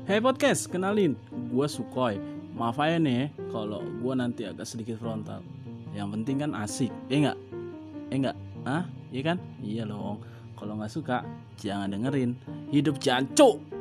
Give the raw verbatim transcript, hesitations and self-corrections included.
Hey podcast, kenalin, gue Sukoy. Maaf aja nih kalau gue nanti agak sedikit frontal. Yang penting kan asik, eh enggak? Eh enggak? Hah? Iya kan? Iya dong. Kalau nggak suka, jangan dengerin. Hidup jancuk.